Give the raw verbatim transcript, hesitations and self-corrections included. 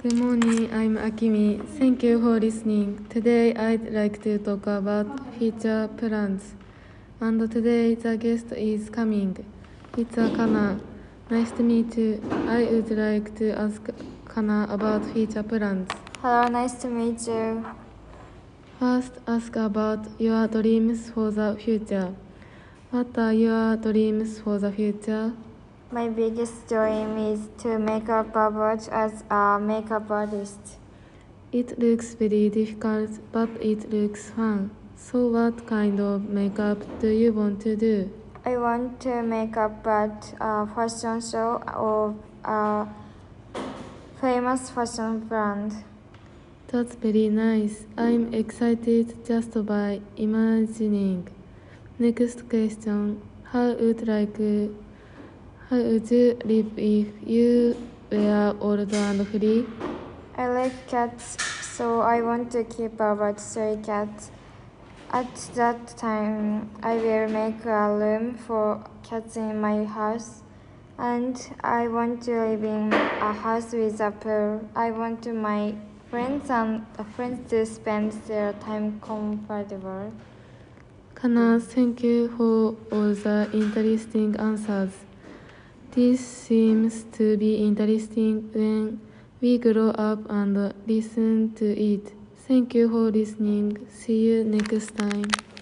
Good morning, I'm Akimi. Thank you for listening. Today I'd like to talk about future plans. And today the guest is coming. It's Kana. Nice to meet you. I would like to ask Kana about future plans. Hello, nice to meet you. First, ask about your dreams for the future. What are your dreams for the future? My biggest dream is to make up Robert as a makeup artist. It looks very difficult, but it looks fun. So what kind of makeup do you want to do? I want to make up at a fashion show of a famous fashion brand. That's very nice. I'm excited just by imagining. Next question. How would like how would you live if you were old and free? I like cats, so I want to keep about three cats. At that time, I will make a room for cats in my house. And I want to live in a house with a pool. I want my friends and friends to spend their time comfortable. Kana, thank you for all the interesting answers. This seems to be interesting when we grow up and listen to it. Thank you for listening. See you next time.